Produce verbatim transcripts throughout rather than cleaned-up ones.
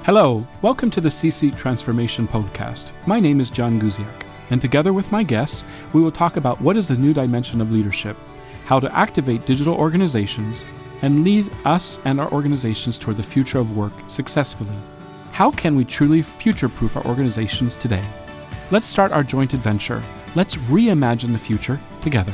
Hello, welcome to the C-Suite Transformation Podcast. My name is John Guziak, and together with my guests, we will talk about what is the new dimension of leadership, how to activate digital organizations, and lead us and our organizations toward the future of work successfully. How can we truly future-proof our organizations today? Let's start our joint adventure. Let's reimagine the future together.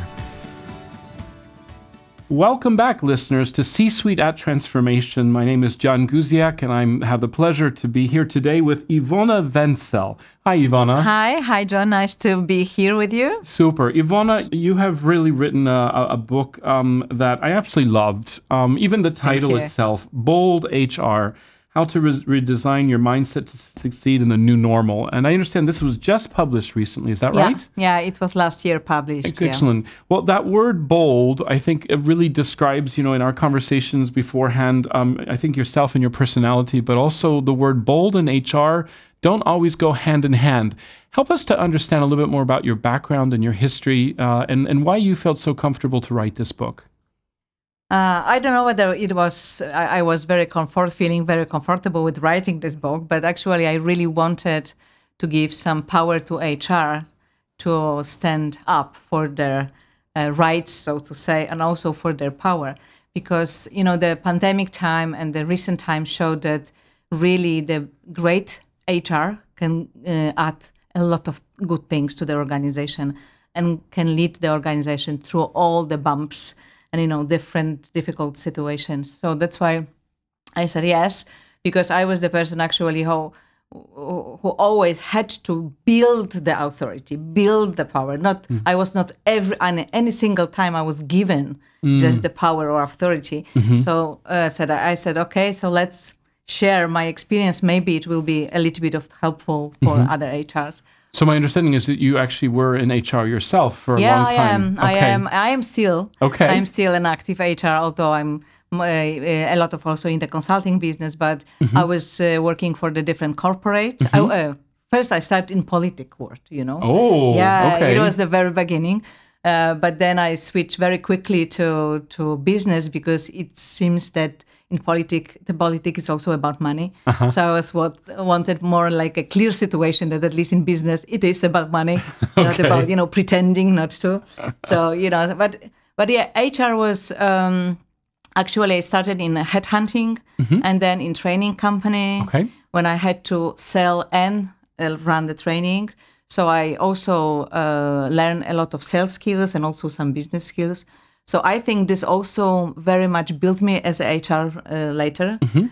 Welcome back, listeners, to C-Suite at Transformation. My name is John Guziak, and I have the pleasure to be here today with Ivona Wenzel. Hi, Ivona. Hi. Hi, John. Nice to be here with you. Super. Ivona, you have really written a, a book um, that I absolutely loved. Um, even the title itself, Bold H R, How to Re- Redesign Your Mindset to Succeed in the New Normal. And I understand this was just published recently. Is that yeah. right? Yeah, it was last year published. Excellent. Yeah. Well, that word bold, I think it really describes, you know, in our conversations beforehand, um, I think yourself and your personality, but also the word bold and H R don't always go hand in hand. Help us to understand a little bit more about your background and your history uh, and, and why you felt so comfortable to write this book. Uh, I don't know whether it was, I, I was very comfort, feeling very comfortable with writing this book, but actually I really wanted to give some power to H R to stand up for their uh, rights, so to say, and also for their power. Because, you know, the pandemic time and the recent time showed that really the great H R can uh, add a lot of good things to the organization and can lead the organization through all the bumps and, you know, different difficult situations. So that's why I said yes, because I was the person actually who, who always had to build the authority, build the power. Not mm. I was not every any single time I was given mm. just the power or authority. Mm-hmm. So uh, said I said, okay, so let's share my experience. Maybe it will be a little bit of helpful for mm-hmm. other H Rs. So my understanding is that you actually were in H R yourself for a yeah, long time. Yeah, I am. Okay. I am. I am still. Okay. I'm still an active H R, although I'm uh, a lot of also in the consulting business. But mm-hmm. I was uh, working for the different corporates. Mm-hmm. I, uh, first, I started in politic world. You know. Oh. Yeah. Okay. It was the very beginning. Uh, but then I switched very quickly to to business because it seems that in politics, the politics is also about money. Uh-huh. So I was what wanted more like a clear situation that at least in business it is about money, okay. not about you know pretending not to. So you know, but but yeah, H R was um, actually I started in headhunting mm-hmm. and then in training company okay. when I had to sell and uh, run the training. So I also uh, learned a lot of sales skills and also some business skills. So I think this also very much built me as a H R uh, later. Mm-hmm.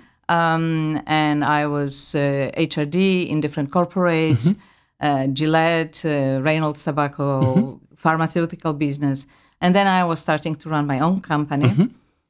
Um, and I was uh, H R D in different corporates, mm-hmm. uh, Gillette, uh, Reynolds Tobacco, mm-hmm. pharmaceutical business. And then I was starting to run my own company. Mm-hmm.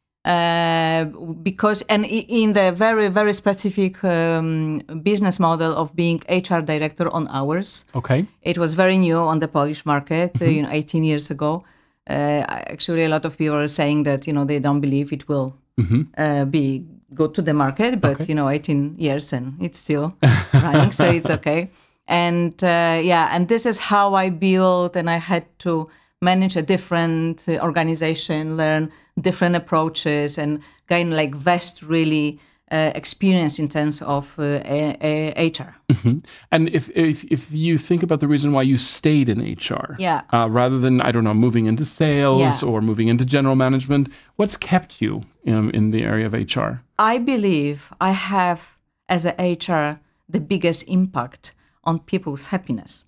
Uh, because, and in the very, very specific um, business model of being H R director on hours. Okay. It was very new on the Polish market, mm-hmm. uh, you know, eighteen years ago. Uh, actually, a lot of people are saying that, you know, they don't believe it will mm-hmm. uh, be good to the market, but, okay. you know, eighteen years and it's still running, so it's okay. And uh, yeah, and this is how I built, and I had to manage a different uh, organization, learn different approaches, and gain like vast really uh, experience in terms of uh, a, a H R. Mm-hmm. And if, if if you think about the reason why you stayed in H R, yeah. uh, rather than, I don't know, moving into sales yeah. or moving into general management, what's kept you in, in the area of H R? I believe I have, as a H R, the biggest impact on people's happiness.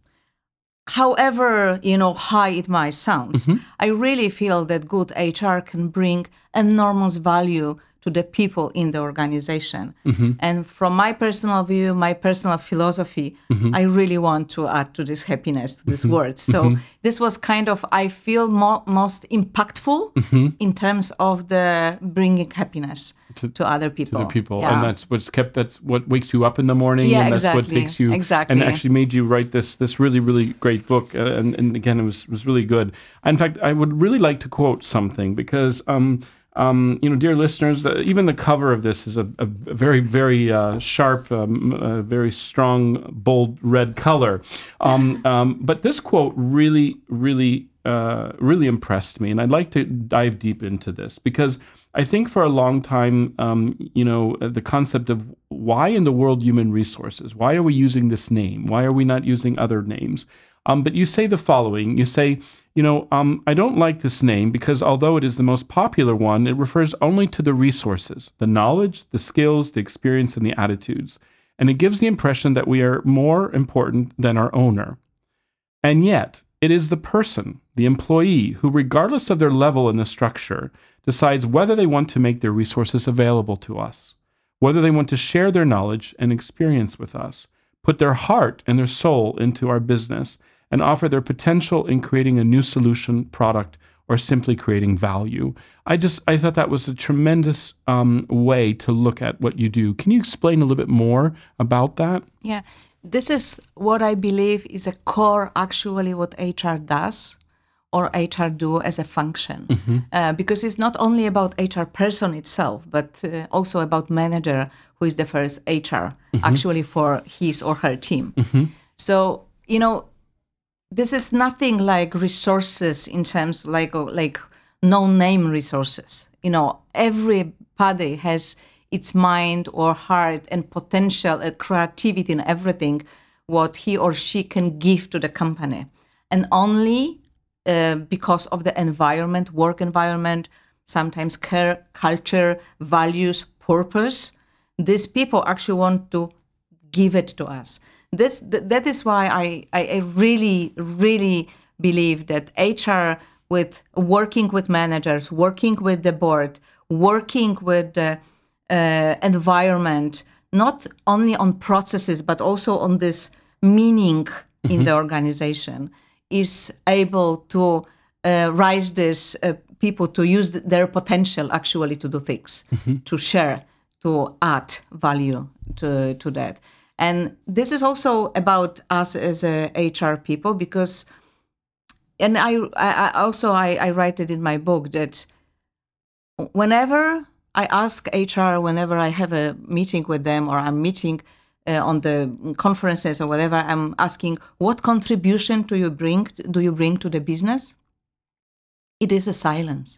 However, you know, high it might sound, mm-hmm. I really feel that good H R can bring enormous value to the people in the organization. Mm-hmm. And from my personal view, my personal philosophy, mm-hmm. I really want to add to this happiness, to this mm-hmm. world. So mm-hmm. this was kind of, I feel mo- most impactful mm-hmm. in terms of the bringing happiness to, to other people. To the people. Yeah. And that's what's kept, that's what wakes you up in the morning. Yeah, and that's exactly. what takes you, exactly. and actually made you write this this really, really great book. Uh, and, and again, it was, was really good. In fact, I would really like to quote something because, um, Um, you know, dear listeners, uh, even the cover of this is a, a very, very uh, sharp, um, uh, very strong, bold red color. Um, um, but this quote really, really uh, really impressed me, and I'd like to dive deep into this because I think for a long time, um, you know, the concept of why in the world human resources? Why are we using this name? Why are we not using other names? Um, but you say the following, you say, you know, um, I don't like this name because although it is the most popular one, it refers only to the resources, the knowledge, the skills, the experience, and the attitudes. And it gives the impression that we are more important than our owner. And yet, it is the person, the employee, who, regardless of their level in the structure, decides whether they want to make their resources available to us, whether they want to share their knowledge and experience with us, put their heart and their soul into our business, and offer their potential in creating a new solution, product, or simply creating value. I just, I thought that was a tremendous um, way to look at what you do. Can you explain a little bit more about that? Yeah, this is what I believe is a core, actually, what H R does or H R do as a function. Mm-hmm. Uh, because it's not only about H R person itself, but uh, also about manager who is the first H R, mm-hmm. actually for his or her team. Mm-hmm. So, you know, this is nothing like resources in terms like like no-name resources. You know, everybody has its mind or heart and potential and creativity and everything what he or she can give to the company. And only uh, because of the environment, work environment, sometimes care, culture, values, purpose, these people actually want to give it to us. This, th- that is why I, I, I really, really believe that H R, with working with managers, working with the board, working with the uh, environment, not only on processes, but also on this meaning mm-hmm. in the organization, is able to uh, rise this uh, people to use th- their potential actually to do things, mm-hmm. to share, to add value to, to that. And this is also about us as a H R people because, and I, I also I, I write it in my book that whenever I ask H R, whenever I have a meeting with them or I'm meeting uh, on the conferences or whatever, I'm asking, what contribution do you bring? Do you bring to the business? It is a silence.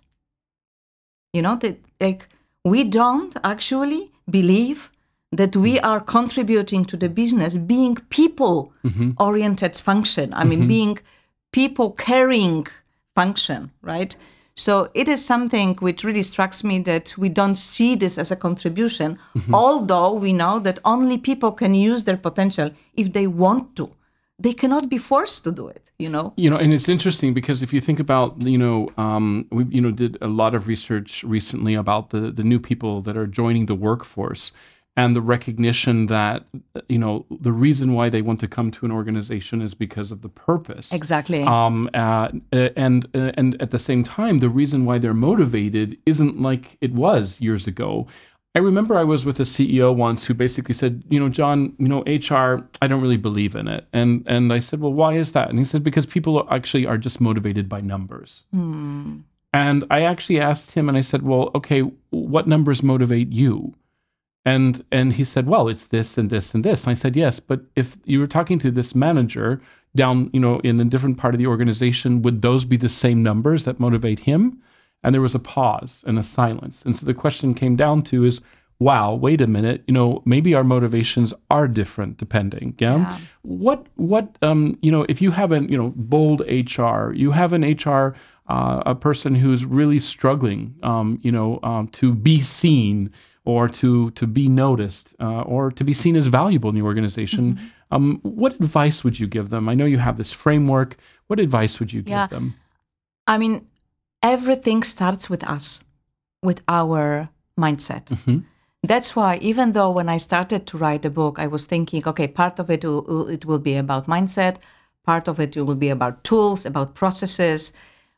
You know, that like we don't actually believe that we are contributing to the business, being people-oriented mm-hmm. function. I mean, mm-hmm. being people-caring function, right? So it is something which really strikes me that we don't see this as a contribution, mm-hmm. although we know that only people can use their potential if they want to. They cannot be forced to do it, you know? You know, and it's interesting because if you think about, you know, um, we, you know, did a lot of research recently about the, the new people that are joining the workforce, and the recognition that, you know, the reason why they want to come to an organization is because of the purpose. Exactly. Um, uh, and uh, and at the same time, the reason why they're motivated isn't like it was years ago. I remember I was with a C E O once who basically said, you know, John, you know, H R, I don't really believe in it. And and I said, well, why is that? And he said, because people are actually are just motivated by numbers. Hmm. And I actually asked him and I said, well, okay, what numbers motivate you? And and he said, well, it's this and this and this. And I said, yes, but if you were talking to this manager down, you know, in a different part of the organization, would those be the same numbers that motivate him? And there was a pause and a silence. And so the question came down to is, wow, wait a minute, you know, maybe our motivations are different depending. Yeah. yeah. What what um you know, if you have an, you know, bold H R, you have an H R uh, a person who's really struggling, um, you know, um, to be seen, or to to be noticed, uh, or to be seen as valuable in the organization. Mm-hmm. Um, what advice would you give them? I know you have this framework. What advice would you give yeah. them? I mean, everything starts with us, with our mindset. Mm-hmm. That's why, even though when I started to write the book, I was thinking, okay, part of it will, it will be about mindset, part of it will be about tools, about processes.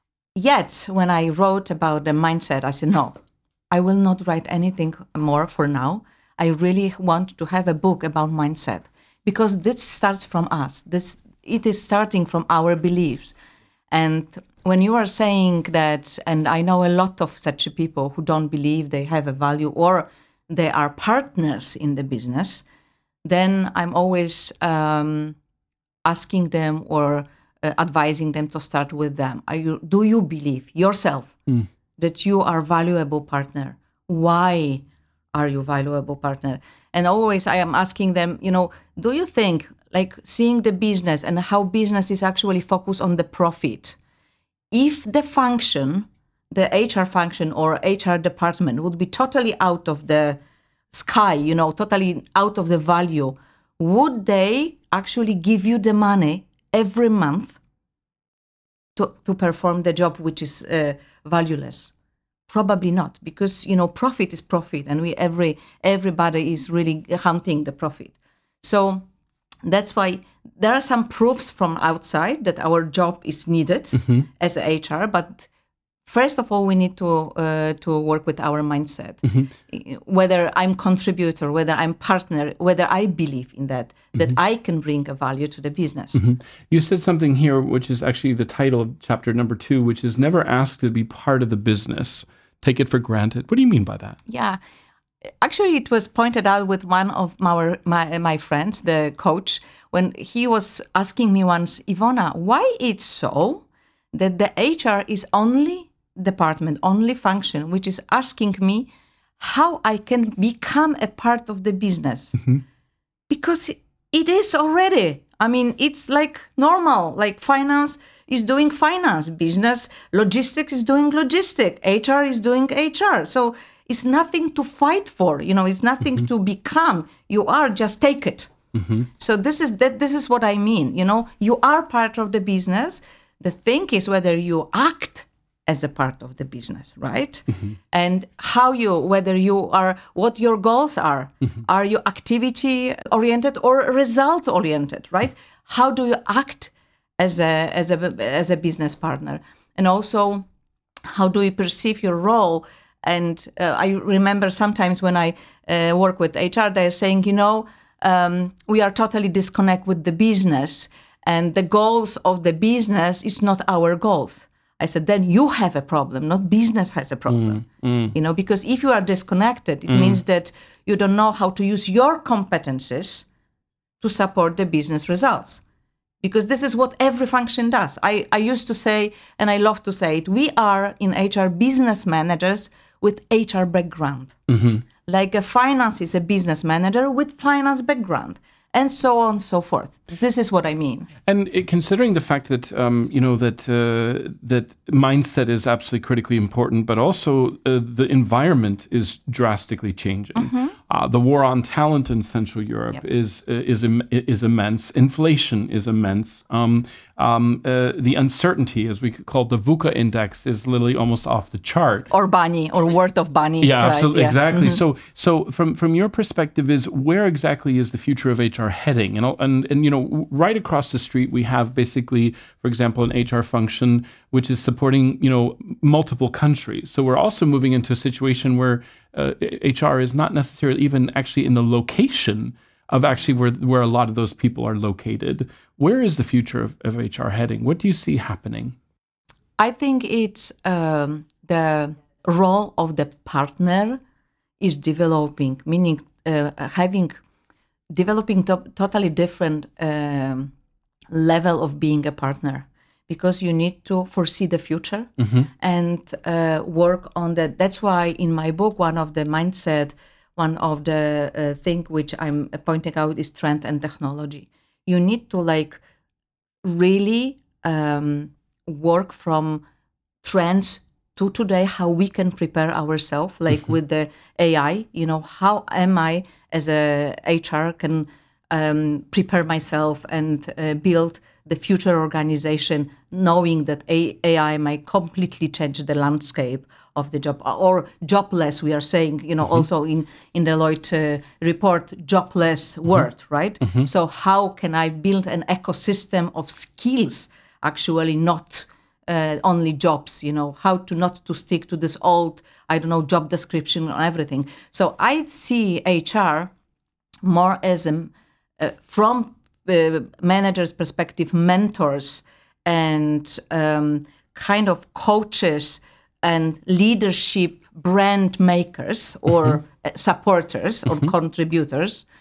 Yet, when I wrote about the mindset, I said, no, I will not write anything more for now. I really want to have a book about mindset because this starts from us. This it is starting from our beliefs. And when you are saying that, and I know a lot of such people who don't believe they have a value or they are partners in the business, then I'm always um, asking them or uh, advising them to start with them. Are you, do you believe yourself mm. that you are a valuable partner? Why are you a valuable partner? And always I am asking them, you know, do you think, like seeing the business and how business is actually focused on the profit, if the function, the H R function or H R department would be totally out of the sky, you know, totally out of the value, would they actually give you the money every month to, to perform the job which is uh, valueless? Probably not, because, you know, profit is profit, and we every everybody is really hunting the profit. So that's why there are some proofs from outside that our job is needed mm-hmm. as a H R, but first of all, we need to uh, to work with our mindset. Mm-hmm. Whether I'm contributor, whether I'm partner, whether I believe in that, that mm-hmm. I can bring a value to the business. Mm-hmm. You said something here, which is actually the title of chapter number two, which is never ask to be part of the business. Take it for granted. What do you mean by that? Yeah. Actually, it was pointed out with one of my, my my friends, the coach, when he was asking me once, Ivona, why it's so that the H R is only department, only function, which is asking me how I can become a part of the business? Mm-hmm. Because it is already. I mean, it's like normal, like finance is doing finance, business, logistics is doing logistics, H R is doing H R. So it's nothing to fight for, you know, it's nothing mm-hmm. to become. You are, just take it. Mm-hmm. So this is that. This is what I mean, you know, you are part of the business. The thing is whether you act as a part of the business, right? Mm-hmm. And how you, whether you are, what your goals are. Mm-hmm. Are you activity oriented or result oriented, right? How do you act as a as a as a business partner? And also, how do you perceive your role? And uh, I remember sometimes when I uh, work with H R, they're saying, you know, um, we are totally disconnected with the business, and the goals of the business is not our goals. I said, then you have a problem, not business has a problem. Mm, mm. You know, because if you are disconnected, it mm. means that you don't know how to use your competences to support the business results. Because this is what every function does. I, I used to say, and I love to say it, we are in H R business managers with H R background. Mm-hmm. Like a finance is a business manager with finance background. And so on and so forth. This is what I mean. And it, considering the fact that um, you know that uh, that mindset is absolutely critically important, but also uh, the environment is drastically changing. Mm-hmm. Uh, the war on talent in Central Europe yep. is uh, is Im- is immense. Inflation is immense. Um, um, uh, the uncertainty, as we call it, the VUCA index, is literally almost off the chart. Or Bani, or worth of Bani. Yeah, right? absolutely, yeah. exactly. Mm-hmm. So, so from from your perspective, is where exactly is the future of H R heading? And and and you know, right across the street, we have basically, for example, an H R function which is supporting you know multiple countries. So we're also moving into a situation where uh, H R is not necessarily even actually in the location of actually where where a lot of those people are located. Where is the future of, of H R heading? What do you see happening? I think it's um, the role of the partner is developing, meaning uh, having developing to- totally different um, level of being a partner, because you need to foresee the future mm-hmm. and uh, work on that. That's why in my book, one of the mindset, one of the uh, thing which I'm pointing out is trend and technology. You need to like really um, work from trends to today, how we can prepare ourselves, like mm-hmm. with the A I, you know, how am I as a H R can um, prepare myself and uh, build the future organization, knowing that A I might completely change the landscape of the job, or jobless, we are saying, you know, mm-hmm. also in, in the Deloitte uh, report, jobless mm-hmm. word, right? Mm-hmm. So how can I build an ecosystem of skills, actually not uh, only jobs, you know, how to not to stick to this old, I don't know, job description or everything. So I see H R more as a, uh, from uh, managers' perspective, mentors and um, kind of coaches and leadership brand makers or mm-hmm. supporters or mm-hmm. contributors.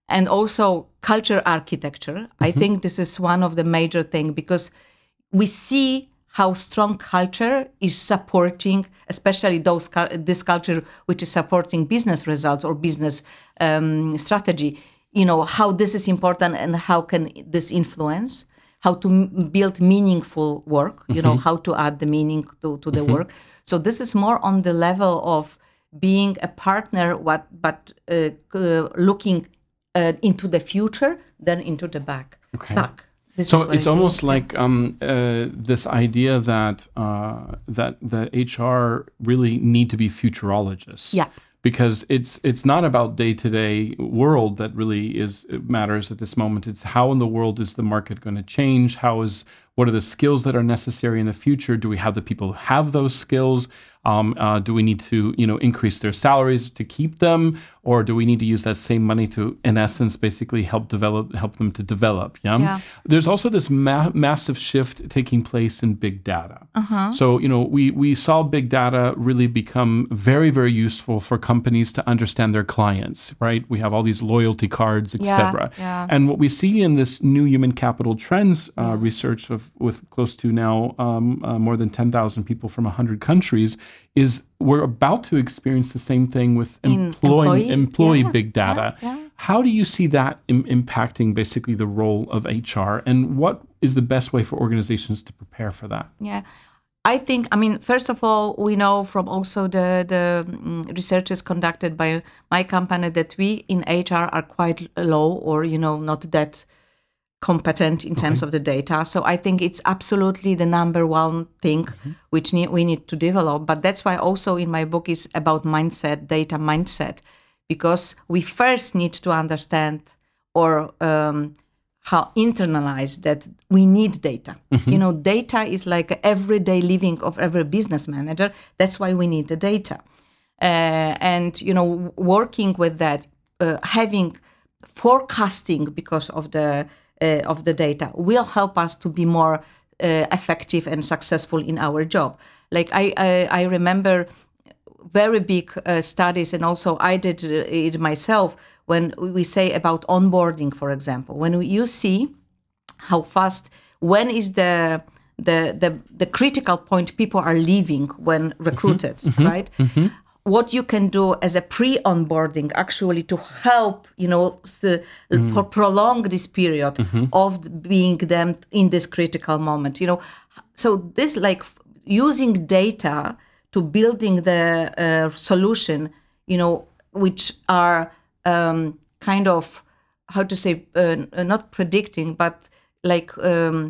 and also culture architecture. Mm-hmm. I think this is one of the major things, because we see how strong culture is supporting, especially those this culture which is supporting business results or business um, strategy. You know, how this is important and how can this influence, how to m- build meaningful work, you mm-hmm. know, how to add the meaning to, to the mm-hmm. work. So this is more on the level of being a partner, what, but uh, uh, looking uh, into the future than into the back. Okay. back. This so it's almost like um, uh, this idea that uh, that that H R really need to be futurologists. Yeah. Because it's it's not about day-to-day world that really is it matters at this moment. It's how in the world is the market going to change? How is what are the skills that are necessary in the future? Do we have the people who have those skills? Um, uh, do we need to, you know, increase their salaries to keep them, or do we need to use that same money to, in essence, basically help develop, help them to develop? Yeah. yeah. There's also this ma- massive shift taking place in big data. Uh-huh. So, you know, we we saw big data really become very, very useful for companies to understand their clients. Right. We have all these loyalty cards, et cetera. Yeah, yeah. And what we see in this new human capital trends uh, yeah. research of with close to now um, uh, more than ten thousand people from one hundred countries. Is we're about to experience the same thing with employing, employee, employee yeah, big data. Yeah, yeah. How do you see that im- impacting basically the role of H R, and what is the best way for organizations to prepare for that? Yeah, I think, I mean, first of all, we know from also the, the um, researches conducted by my company that we in H R are quite low or, you know, not that competent in terms okay. of the data. So I think it's absolutely the number one thing mm-hmm. which ne- we need to develop. But that's why also in my book is about mindset, data mindset, because we first need to understand or um, how internalize that we need data. Mm-hmm. You know, data is like everyday living of every business manager. That's why we need the data. Uh, and, you know, working with that, uh, having forecasting because of the Uh, of the data will help us to be more uh, effective and successful in our job. Like I, I, I remember very big uh, studies, and also I did it myself, when we say about onboarding, for example, when you see how fast, when is the the the, the critical point people are leaving when recruited, mm-hmm. right? Mm-hmm. What you can do as a pre-onboarding actually to help, you know, to mm. prolong this period mm-hmm. of being them in this critical moment, you know. So this like f- using data to building the uh, solution, you know, which are um, kind of, how to say, uh, not predicting, but like um,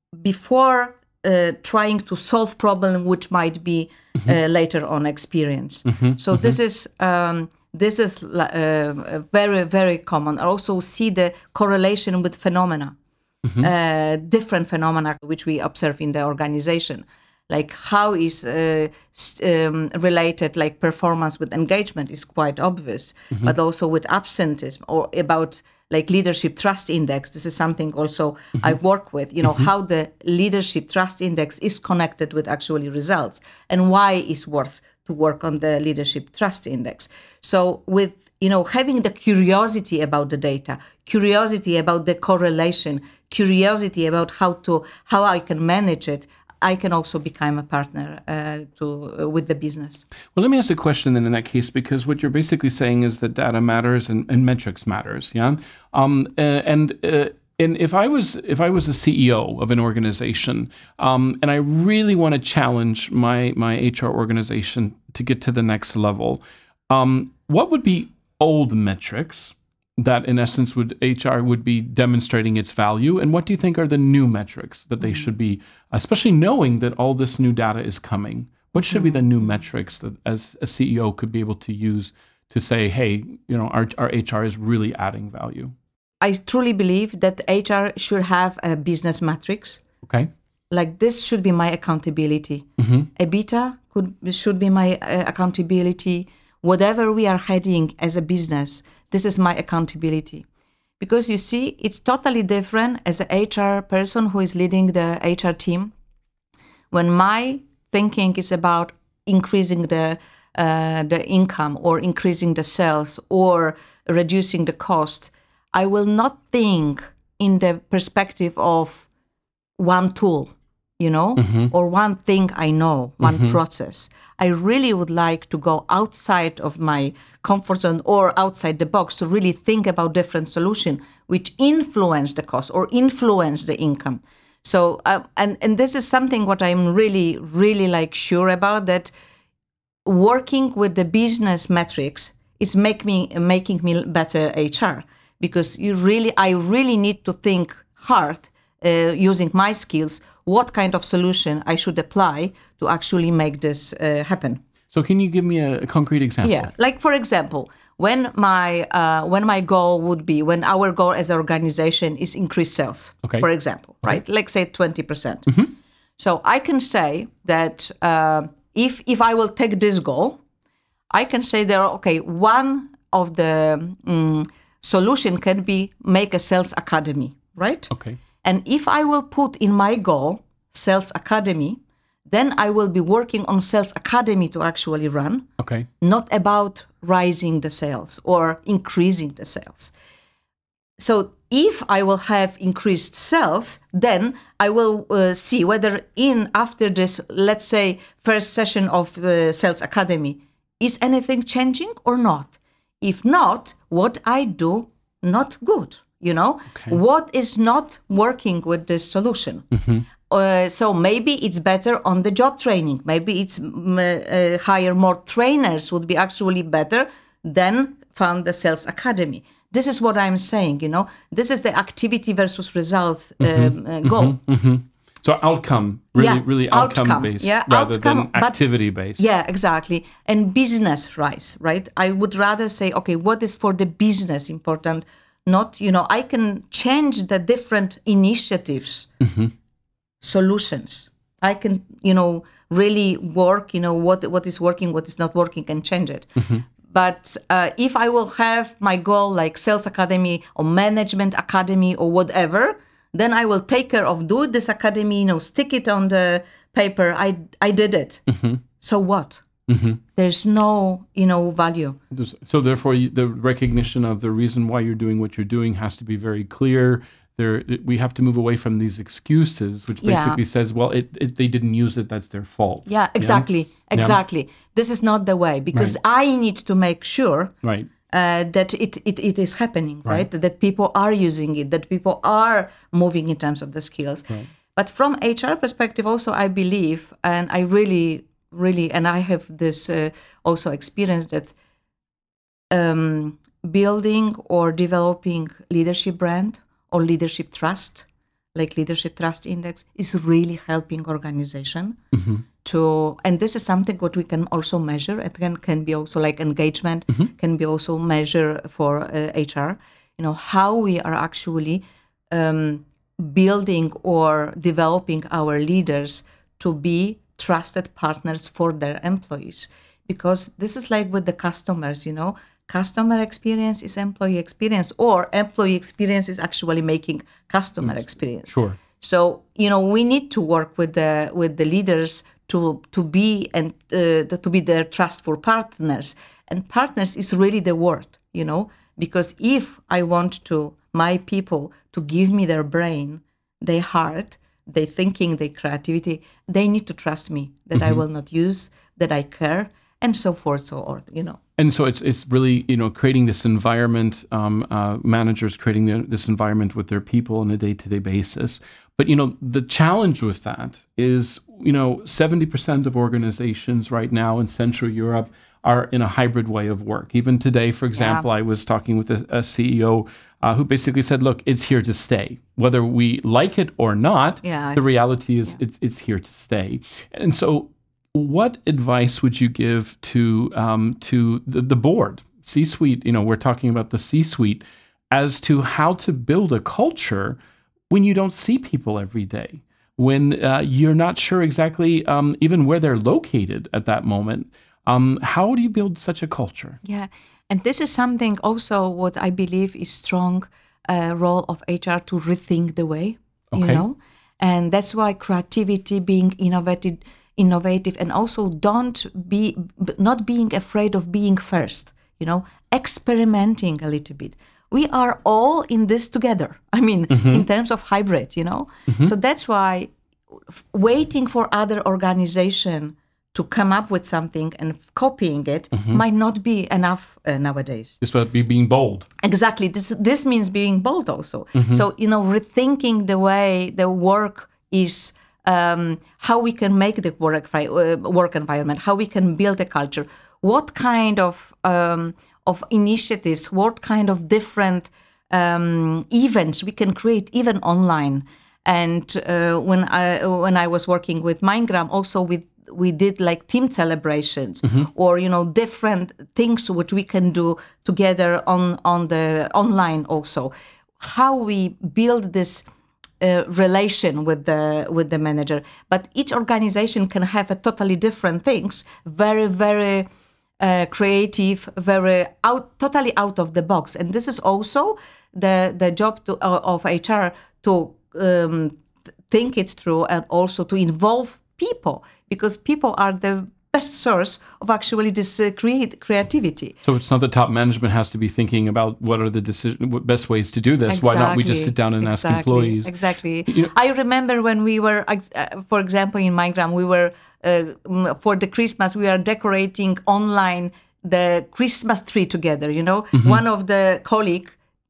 before Uh, trying to solve problem which might be mm-hmm. uh, later on experience. Mm-hmm. So mm-hmm. this is um, this is uh, very very common. I also see the correlation with phenomena, mm-hmm. uh, different phenomena which we observe in the organization, like how is uh, st- um, related like performance with engagement is quite obvious, mm-hmm. but also with absenteeism or about like leadership trust index. This is something also mm-hmm. I work with, you know, mm-hmm. how the leadership trust index is connected with actually results and why it's worth to work on the leadership trust index. So with, you know, having the curiosity about the data, curiosity about the correlation, curiosity about how to, how I can manage it, I can also become a partner uh, to uh, with the business. Well, let me ask a question then in that case, because what you're basically saying is that data matters and, and metrics matters, yeah. Um, uh, and uh, and if I was if I was a C E O of an organization, um, and I really want to challenge my my H R organization to get to the next level, um, what would be old metrics that in essence would H R would be demonstrating its value, and what do you think are the new metrics that they should be, especially knowing that all this new data is coming? What should be the new metrics that as a C E O could be able to use to say, hey, you know, our, our H R is really adding value? I truly believe that H R should have a business matrix. Okay. Like this should be my accountability. Mm-hmm. EBITDA could should be my uh, accountability. Whatever we are heading as a business, this is my accountability. Because you see, it's totally different as an H R person who is leading the H R team. When my thinking is about increasing the uh, the income or increasing the sales or reducing the cost, I will not think in the perspective of one tool, you know, mm-hmm. or one thing I know, one mm-hmm. process. I really would like to go outside of my comfort zone or outside the box to really think about different solutions which influence the cost or influence the income. So, uh, and, and this is something what I'm really, really like sure about, that working with the business metrics is make me, making me better H R, because you really, I really need to think hard uh, using my skills, what kind of solution I should apply to actually make this uh, happen. So can you give me a, a concrete example? Yeah, like for example, when my uh, when my goal would be, when our goal as an organization is increase sales, okay. for example, okay. right? Like say twenty percent. Mm-hmm. So I can say that uh, if if I will take this goal, I can say there, okay, one of the um, solution can be make a sales academy, right? Okay. And if I will put in my goal sales academy, then I will be working on sales academy to actually run. Okay. Not about rising the sales or increasing the sales. So if I will have increased sales, then I will uh, see whether in after this, let's say, first session of uh, sales academy, is anything changing or not? If not, what I do not good. You know, okay. What is not working with this solution? Mm-hmm. Uh, so maybe it's better on the job training. Maybe it's uh, hire more trainers would be actually better than found the sales academy. This is what I'm saying. You know, this is the activity versus result mm-hmm. um, uh, goal. Mm-hmm. Mm-hmm. So outcome, really, yeah, really outcome, outcome based yeah, rather outcome, than activity based. Yeah, exactly. And business rise, right? I would rather say, okay, what is for the business important? Not, you know, I can change the different initiatives, mm-hmm. solutions. I can, you know, really work, you know, what what is working, what is not working, and change it. Mm-hmm. But uh, if I will have my goal like sales academy or management academy or whatever, then I will take care of do this academy, you know, stick it on the paper. I I did it. Mm-hmm. So what? Mm-hmm. There's no, you know, value. So therefore, the recognition of the reason why you're doing what you're doing has to be very clear. There, we have to move away from these excuses, which basically yeah. says, well, it, it, they didn't use it, that's their fault. Yeah, exactly, yeah? exactly. Yeah. This is not the way, because right. I need to make sure right. uh, that it, it, it is happening, right? right? That people are using it, that people are moving in terms of the skills. Right. But from H R perspective also, I believe, and I really... really, and I have this uh, also experience that um, building or developing leadership brand or leadership trust, like leadership trust index, is really helping organization mm-hmm. to, and this is something what we can also measure. It can, can be also like engagement, mm-hmm. can be also measure for uh, H R, you know, how we are actually um, building or developing our leaders to be trusted partners for their employees. Because this is like with the customers, you know, customer experience is employee experience, or employee experience is actually making customer mm, experience. Sure. So, you know, we need to work with the with the leaders to to be and uh, to be their trustful partners. And partners is really the word, you know, because if I want to my people to give me their brain, their heart, their thinking, their creativity, they need to trust me that mm-hmm. I will not use, that I care, and so forth, so on, you know. And so it's it's really, you know, creating this environment, um, uh, managers creating the, this environment with their people on a day-to-day basis. But, you know, the challenge with that is, you know, seventy percent of organizations right now in Central Europe are in a hybrid way of work. Even today, for example, yeah. I was talking with a, a C E O uh, who basically said, look, it's here to stay. Whether we like it or not, yeah, the reality is yeah. it's it's here to stay. And so what advice would you give to um, to the, the board, C-suite, you know, we're talking about the C-suite, as to how to build a culture when you don't see people every day, when uh, you're not sure exactly um, even where they're located at that moment? Um, how do you build such a culture? Yeah, and this is something also what I believe is strong uh, role of H R to rethink the way, okay. you know, and that's why creativity, being innovative, innovative, and also don't be not being afraid of being first, you know, experimenting a little bit. we are all in this together. I mean, Mm-hmm. in terms of hybrid, you know. Mm-hmm. So that's why f- waiting for other organization to come up with something and f- copying it Mm-hmm. might not be enough uh, nowadays. This would be being bold. Exactly. This this means being bold also. So, you know, rethinking the way the work is, um, how we can make the work fi- uh, work environment, how we can build a culture, what kind of um, of initiatives, what kind of different um, events we can create even online. And uh, when I when I was working with Mindgram, also with we did like team celebrations or you know different things which we can do together on on the online also. How we build this uh, relation with the with the manager, but each organization can have a totally different things. Very very. Uh, creative, very out, totally out of the box, and this is also the the job to, uh, of H R to um, th- think it through and also to involve people, because people are the best source of actually this uh, create creativity. So it's not that top management has to be thinking about what are the decision, what best ways to do this. Why don't we just sit down and exactly, ask employees? Exactly. You know- I remember when we were, uh, for example, in Mindgram, we were uh, for the Christmas we are decorating online the Christmas tree together. You know, Mm-hmm. one of the colleague.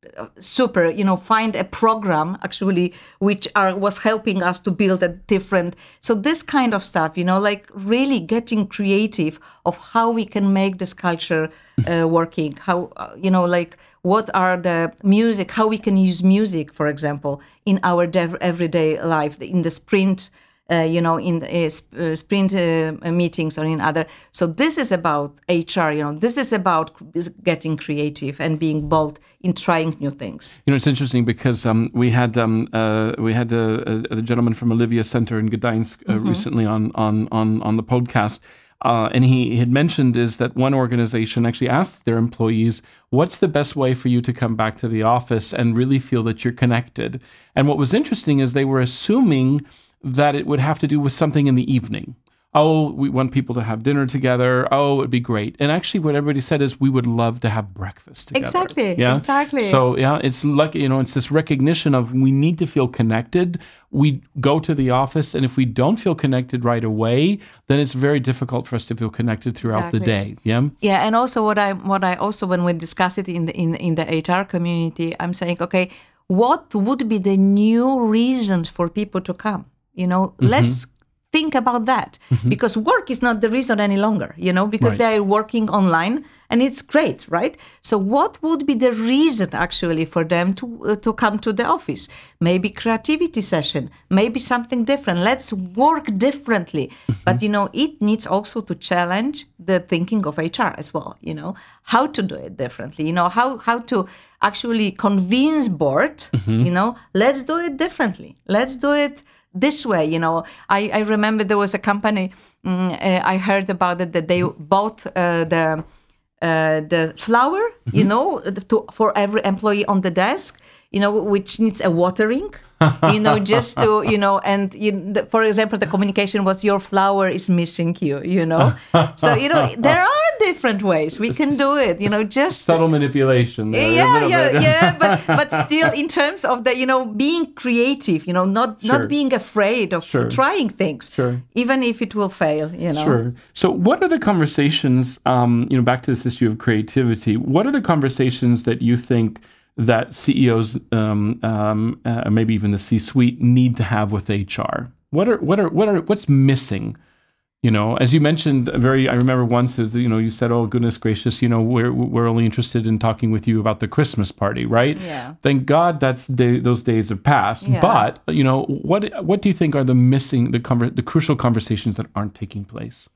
Super, you know, find a program actually which are was helping us to build a different. So this kind of stuff, you know, like really getting creative of how we can make this culture uh, working. How uh, you know, like what are the music? How we can use music, for example, in our dev- everyday life, in the sprint. Uh, you know, in uh, sp- uh, sprint uh, meetings or in other. So this is about H R, you know, this is about getting creative and being bold in trying new things. You know, it's interesting because um, we had um, uh, we had a, a, a gentleman from Olivia Center in Gdańsk uh, Mm-hmm. recently on on on on the podcast, uh, and he had mentioned is that one organization actually asked their employees, "What's the best way for you to come back to the office and really feel that you're connected?" And what was interesting is they were assuming that it would have to do with something in the evening. Oh, we want people to have dinner together. Oh, it'd be great. And actually what everybody said is we would love to have breakfast together. Exactly, Yeah? exactly. So yeah, it's like, you know, it's this recognition of we need to feel connected. We go to the office, and if we don't feel connected right away, then it's very difficult for us to feel connected throughout the Exactly. day. Yeah. Yeah, and also what I what I also when we discuss it in the in in the H R community, I'm saying, okay, what would be the new reasons for people to come? You know, Mm-hmm. let's think about that, because work is not the reason any longer, you know, because Right. they are working online and it's great, right? So what would be the reason actually for them to uh, to come to the office? Maybe creativity session, maybe something different. Let's work differently. But, you know, it needs also to challenge the thinking of H R as well, you know, how to do it differently, you know, how, how to actually convince board, you know, let's do it differently. Let's do it this way, you know. I, I remember there was a company mm, uh, I heard about it that they bought uh, the uh, the flower, you know, to, for every employee on the desk, you know, which needs a watering, you know, just to, you know, and you, the, for example, the communication was your flower is missing you, you know. So, you know, there are different ways we can do it, you know, just Subtle manipulation. There, a yeah, little yeah, bit. yeah, but but still, in terms of the, you know, being creative, you know, not Sure. not being afraid of Sure. trying things, Sure. even if it will fail, you know. Sure. So, what are the conversations? Um, you know, back to this issue of creativity. What are the conversations that you think that C E Os, um, um, uh, maybe even the C-suite, need to have with H R? What are what are what are what's missing? You know, as you mentioned, very. I remember once, as you know, you said, "Oh goodness gracious, you know, we're we're only interested in talking with you about the Christmas party, right?" Yeah. Thank God that's day, those days have passed. Yeah. But you know, what what do you think are the missing the conver- the crucial conversations that aren't taking place?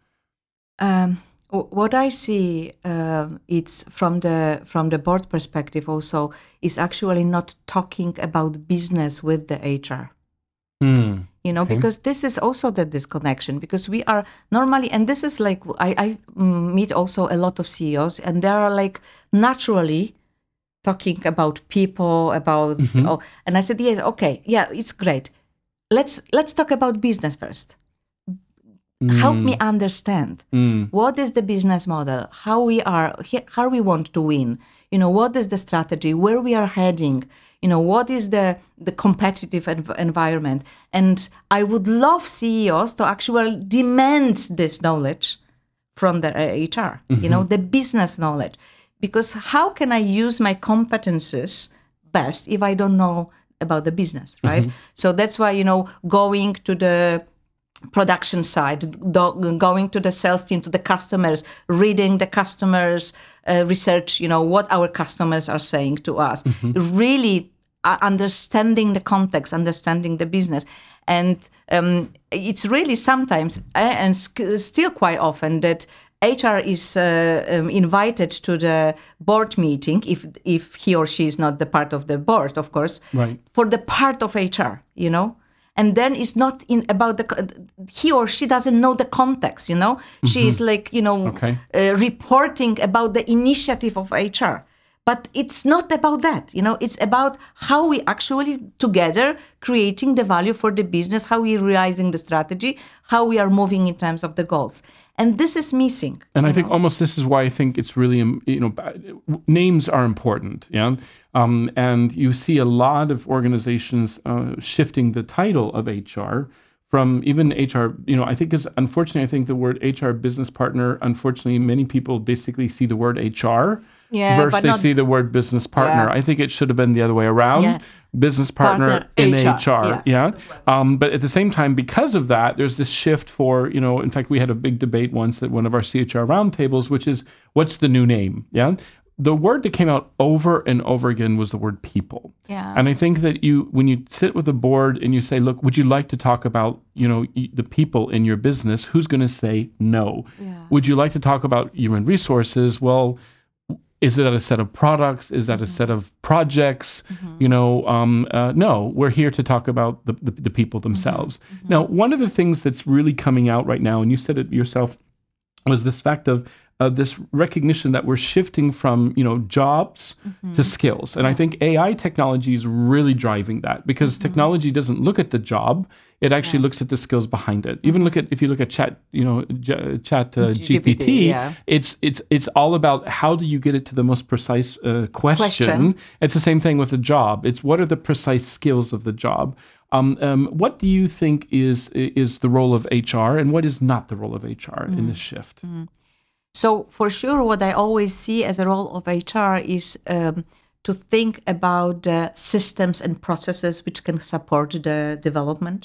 Um, w- what I see, uh, it's from the from the board perspective also, is actually not talking about business with the H R. Hmm. You know, Okay. because this is also the disconnection, because we are normally, and this is like, I, I mm, meet also a lot of C E Os, and they are like naturally talking about people, about, oh, and I said, yes, okay, yeah, it's great. Let's let's talk about business first. mm. help me understand mm. what is the business model, how we are, how we want to win, you know, what is the strategy, where we are heading, you know, what is the, the competitive env- environment. And I would love C E Os to actually demand this knowledge from the H R, mm-hmm. you know, the business knowledge. Because how can I use my competences best if I don't know about the business, right? Mm-hmm. So that's why, you know, going to the production side, do, going to the sales team, to the customers, reading the customers' uh, research, you know, what our customers are saying to us, mm-hmm. really uh, understanding the context, understanding the business. And um, it's really sometimes, uh, and sc- still quite often, that H R is uh, um, invited to the board meeting, if if he or she is not the part of the board, of course, right. for the part of H R, you know? And then it's not in about the, he or she doesn't know the context, you know? Mm-hmm. She is like, you know, okay. uh, reporting about the initiative of H R. But it's not about that, you know, it's about how we actually together creating the value for the business, how we realizing the strategy, how we are moving in terms of the goals. And this is missing. And I think know? almost this is why I think it's really, you know, names are important. Yeah. Um, and you see a lot of organizations uh, shifting the title of H R from even H R, you know, I think is unfortunately, I think the word H R business partner, unfortunately, many people basically see the word H R. Yeah, versus they not, see the word business partner. Yeah. I think it should have been the other way around. Yeah. Business partner, partner in H R. H R yeah. yeah? Um, but at the same time, because of that, there's this shift for, you know, in fact, we had a big debate once at one of our C H R roundtables, which is, what's the new name? Yeah. The word that came out over and over again was the word people. Yeah. And I think that you, when you sit with the board and you say, look, would you like to talk about, you know, the people in your business? Who's going to say no? Yeah. Would you like to talk about human resources? Well, is that a set of products? Is that mm-hmm. a set of projects? Mm-hmm. You know, um, uh, no, we're here to talk about the, the, the people themselves. Mm-hmm. Now, one of the things that's really coming out right now, and you said it yourself, was this fact of uh, this recognition that we're shifting from, you know, jobs mm-hmm. to skills. And yeah. I think A I technology is really driving that, because mm-hmm. technology doesn't look at the job. It actually yeah. looks at the skills behind it. Even look at, if you look at chat, you know, J- chat uh, G P T, G P T yeah. it's it's it's all about how do you get it to the most precise uh, question. question. It's the same thing with the job. It's what are the precise skills of the job. Um, um, what do you think is is the role of H R, and what is not the role of H R mm. in this shift? Mm. So for sure, what I always see as a role of H R is um, to think about the systems and processes which can support the development.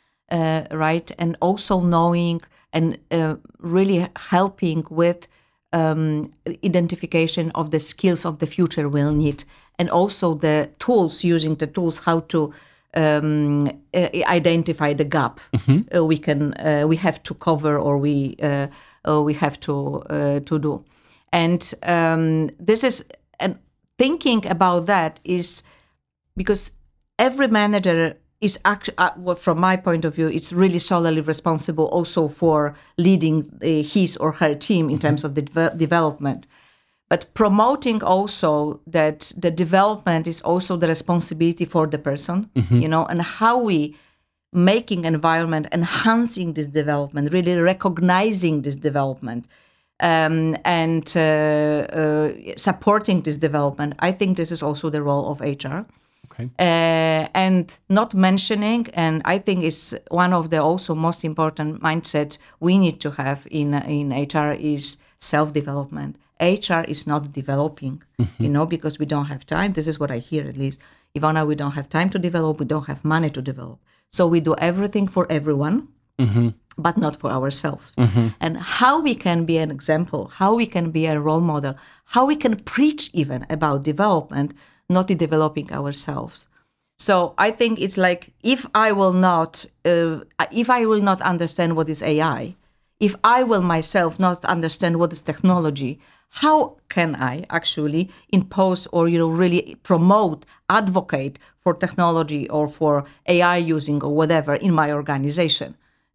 Uh, right, and also knowing and uh, really helping with um, identification of the skills of the future we'll need, and also the tools, using the tools how to um, uh, identify the gap mm-hmm. uh, we can uh, we have to cover or we uh, uh, we have to uh, to do, and um, this is and thinking about that is because every manager is actually, uh, from my point of view, it's really solely responsible also for leading uh, his or her team in mm-hmm. terms of the de- development. But promoting also that the development is also the responsibility for the person, mm-hmm. you know, and how we making environment, enhancing this development, really recognizing this development um, and uh, uh, supporting this development. I think this is also the role of H R. Okay. Uh, and not mentioning, and I think is one of the also most important mindsets we need to have in in H R is self-development. H R is not developing, mm-hmm. you know, because we don't have time. This is what I hear at least. Ivana, we don't have time to develop. We don't have money to develop. So we do everything for everyone, mm-hmm. but not for ourselves. Mm-hmm. And how we can be an example, how we can be a role model, how we can preach even about development, not in developing ourselves. So I think it's like, if I will not, uh, if I will not understand what is A I, if I will myself not understand what is technology, how can I actually impose or, you know, really promote, advocate for technology or for A I using or whatever in my organization?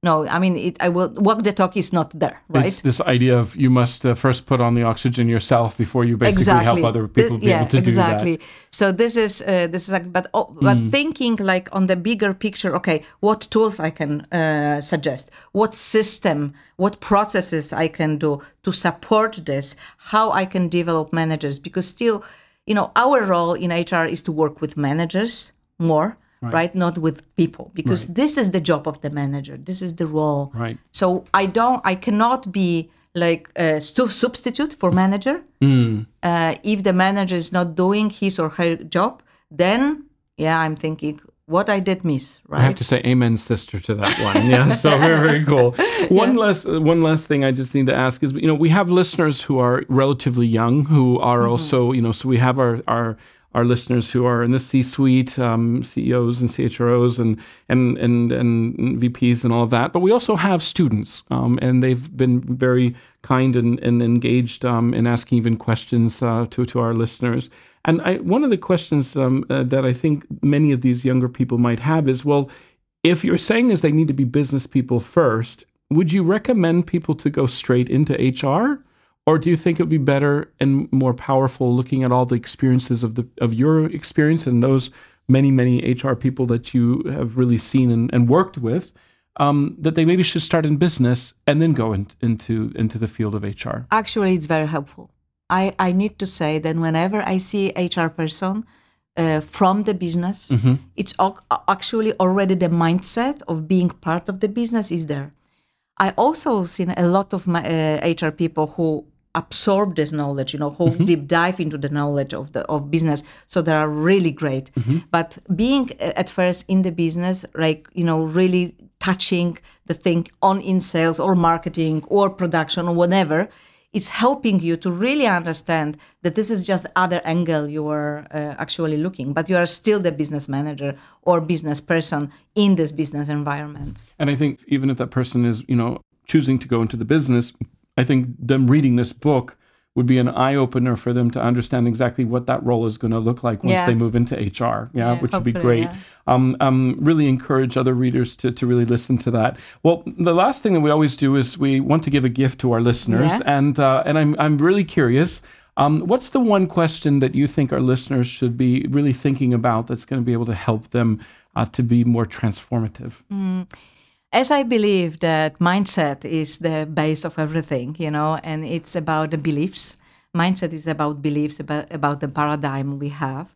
no, I mean, it, I will walk the talk is not there, right? It's this idea of you must uh, first put on the oxygen yourself before you basically exactly. help other people this, be yeah, able to exactly. do that. So this is uh, this is like, but oh, but Mm. thinking like on the bigger picture. Okay, what tools I can uh, suggest? What system? What processes I can do to support this? How I can develop managers? Because still, you know, our role in H R is to work with managers more. Right. right, not with people, because right. this is the job of the manager. This is the role. Right. So I don't, I cannot be like a stu- substitute for manager. Mm. Uh, if the manager is not doing his or her job, then yeah, I'm thinking what I did miss. Right. I have to say, amen, sister, to that one. Yeah. So very, very cool. One yeah. last, uh, one last thing I just need to ask is, you know, we have listeners who are relatively young, who are mm-hmm. also, you know, so we have our our. our listeners who are in the C-suite, um, C E Os and C H R Os and, and and and V Ps and all of that. But we also have students, um, and they've been very kind and, and engaged um, in asking even questions uh, to, to our listeners. And I, one of the questions um, uh, that I think many of these younger people might have is, well, if you're saying is they need to be business people first, would you recommend people to go straight into H R? Or do you think it would be better and more powerful looking at all the experiences of the of your experience and those many, many H R people that you have really seen and, and worked with, um, that they maybe should start in business and then go in, into into the field of H R? Actually, it's very helpful. I, I need to say that whenever I see H R person uh, from the business, mm-hmm. it's al- actually already the mindset of being part of the business is there. I also seen a lot of my uh, H R people who absorb this knowledge, you know, who mm-hmm. deep dive into the knowledge of the of business. So they are really great. Mm-hmm. But being uh, at first in the business, like, you know, really touching the thing on in sales or marketing or production or whatever, it's helping you to really understand that this is just other angle you are uh, actually looking, but you are still the business manager or business person in this business environment. And I think even if that person is, you know, choosing to go into the business, I think them reading this book would be an eye-opener for them to understand exactly what that role is going to look like once yeah. they move into H R, yeah, yeah which would be great. Yeah. Um, um, really encourage other readers to, to really listen to that. Well, the last thing that we always do is we want to give a gift to our listeners, yeah. and uh, and I'm I'm really curious. Um, what's the one question that you think our listeners should be really thinking about that's going to be able to help them uh, to be more transformative? Mm. As I believe that mindset is the base of everything, you know, and it's about the beliefs. Mindset is about beliefs, about, about the paradigm we have.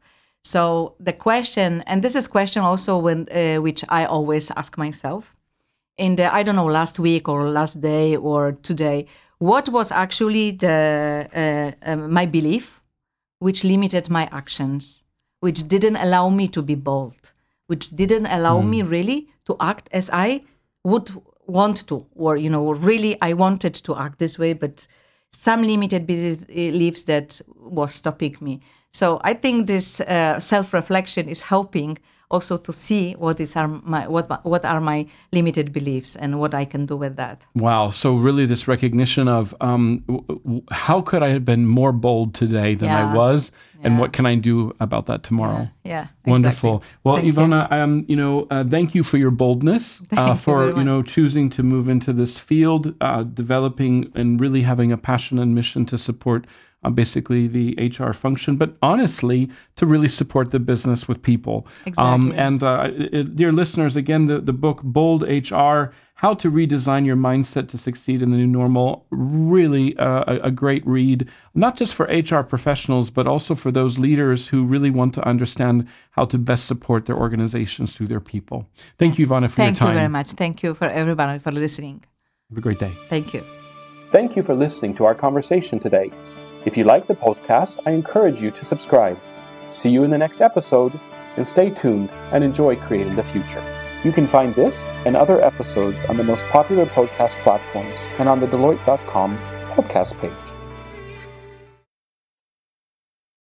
So the question, and this is question also when uh, which I always ask myself, in the, I don't know, last week or last day or today, what was actually the uh, uh, my belief which limited my actions, which didn't allow me to be bold, which didn't allow mm. me really to act as I would want to, or, you know, really I wanted to act this way, but some limited beliefs that was stopping me. So I think this uh, self-reflection is helping also to see what is our, my what what are my limited beliefs and what I can do with that. Wow. So really this recognition of um, w- how could I have been more bold today than yeah. I was, yeah. and what can I do about that tomorrow? Yeah, yeah wonderful. Exactly. Well, thank Ivana, you. um, you know, uh, thank you for your boldness, uh, for you, you know choosing to move into this field, uh, developing and really having a passion and mission to support Uh, basically the H R function, but honestly, to really support the business with people. Exactly. Um, and uh, it, dear listeners, again, the, the book Bold H R, How to Redesign Your Mindset to Succeed in the New Normal, really uh, a, a great read, not just for H R professionals, but also for those leaders who really want to understand how to best support their organizations through their people. Thank you, Ivana, for Thank your time. Thank you very much. Thank you for everybody for listening. Have a great day. Thank you. Thank you for listening to our conversation today. If you like the podcast, I encourage you to subscribe. See you in the next episode, and stay tuned and enjoy creating the future. You can find this and other episodes on the most popular podcast platforms and on the Deloitte dot com podcast page.